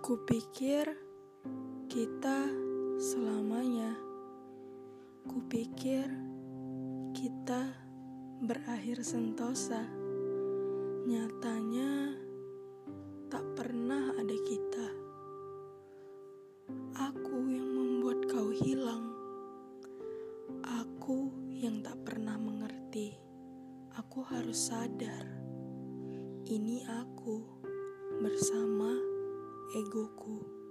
Kupikir kita selamanya. Kupikir kita berakhir sentosa. Nyatanya tak pernah ada kita. Aku yang membuat kau hilang. Aku yang tak pernah mengerti. Aku harus sadar. Ini aku bersama egoku.